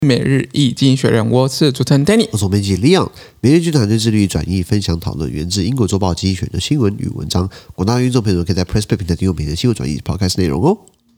每日一經濟學人，我是主持人 Danny， 我是編輯 Leon。每日一經團隊致力於轉譯、分享、討論源自英國週報經濟學人的新聞與文章。廣大聽眾朋友可以在 PressPlay 平台訂閱每日新聞轉譯 Podcast 內容哦。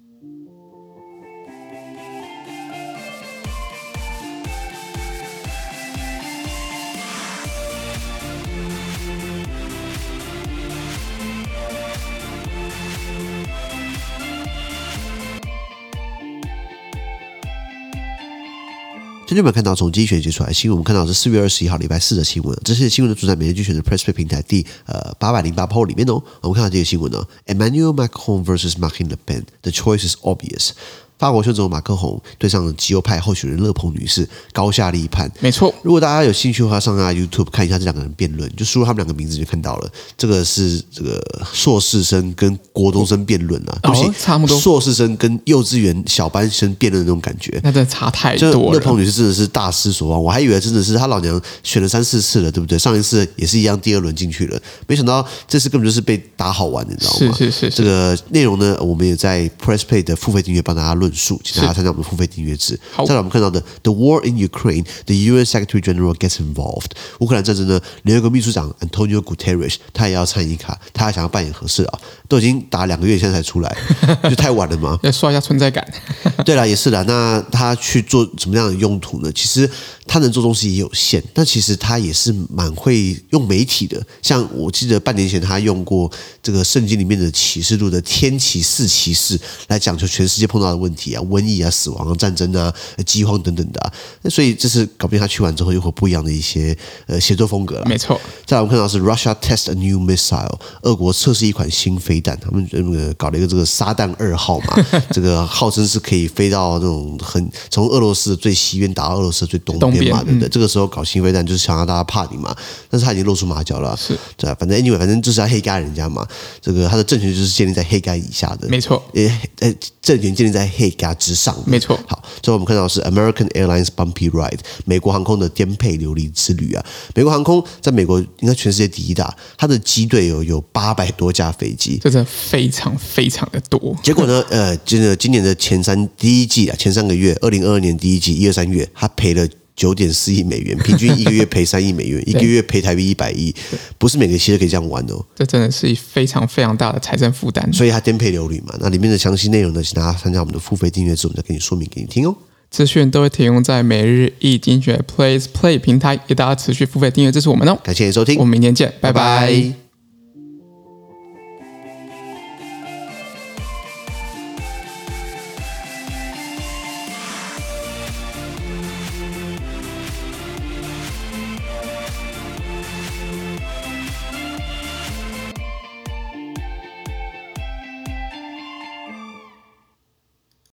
今天我們看到從經濟學人接出來的新聞，我們看到是4月21號禮拜四的新聞。這些新聞呢，主在每日經濟學人的 PressPlay 平台第808 PO 裡面哦。我們看到這個新聞呢 ，Emmanuel Macron versus Marine Le Pen, the choice is obvious。法國總統馬克宏對上極右派候選人勒龐女士，高下立判。 沒錯， 如果大家有興趣的話，上YouTube 看一下這兩個人辯論，就輸入他們兩個名字就看到了。這個是這個碩士生跟國中生辯論啊，對不起， 差不多。 碩士生跟幼稚園小班生辯論的那種感覺， 那真的差太多了。 勒龐女士真的是大失所望，我還以為真的是她老娘選了3-4次了，對不對？上一次也是一樣，第2輪進去了，沒想到這次根本就是被打好玩，你知道嗎？ 是。 這個內容呢，我們也在 PressPlay 的付費訂閱幫大家論述，請大家參加我們的付費訂閱制。再來，我們看到的 The War in Ukraine, the UN Secretary General gets involved。烏克蘭戰爭呢，聯合國秘書長 Antonio Guterres 他也要參與卡，他還想要扮演和事佬，都已經打2個月，現在才出來，就太晚了嘛。 要刷一下存在感。 對啦，也是啦。那他去做什麼樣的用途呢？其實他能做東西也有限，但其實他也是蠻會用媒體的。像我記得半年前他用過這個聖經裡面的啟示錄的天啟4啟示來講求全世界碰到的問題啊，瘟疫啊、死亡啊、戰爭啊、饑荒等等的啊。所以這是搞不定他去完之後又會不一樣的一些寫作風格了。 沒錯。再來我們看到是 Russia test a new missile， 俄國測試一款新飛彈，他們搞了一個這個撒旦2號嘛，這個號稱是可以飛到那種從俄羅斯的最西邊打到俄羅斯的最東邊嘛，對不對？這個時候搞新飛彈就是想讓大家怕你嘛，但是他已經露出馬腳了，是，對啊，反正就是要黑幹人家嘛，這個他的政權就是建立在黑幹以下的， 沒錯， 政權建立在黑幹之上的， 沒錯。 好，最後我們看到的是 American Airlines Bumpy Ride， 美國航空的顛沛流離之旅啊。美國航空在美國應該全世界第一大，它的機隊有800多架飛機， 這真的非常非常的多。 結果呢，今年的第一季啊，前3個月，2022年第一季1、2、3月，他賠了9.4億美元，平均1個月賠3億美元，一個月賠台幣100億，不是每個企業都可以這樣玩哦。 這真的是非常非常大的財政負擔，所以它顛沛流離嘛。那裡面的詳細內容呢，請大家參加我們的付費訂閱制，我們再給你說明給你聽哦。 資訊都會提供在每日一經濟學人 PressPlay 平台，給大家持續付費訂閱支持我們哦。 感謝你收聽， 我們明天見，拜拜。